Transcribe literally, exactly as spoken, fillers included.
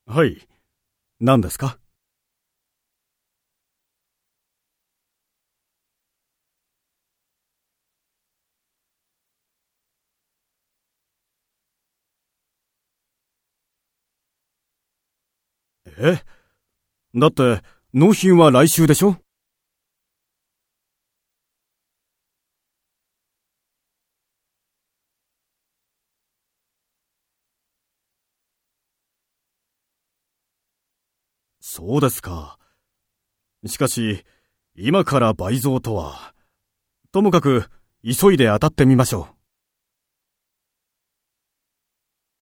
はい。何ですか？え？だって、納品は来週でしょ？そうですか。しかし、今から倍増とは。ともかく、急いで当たってみましょう。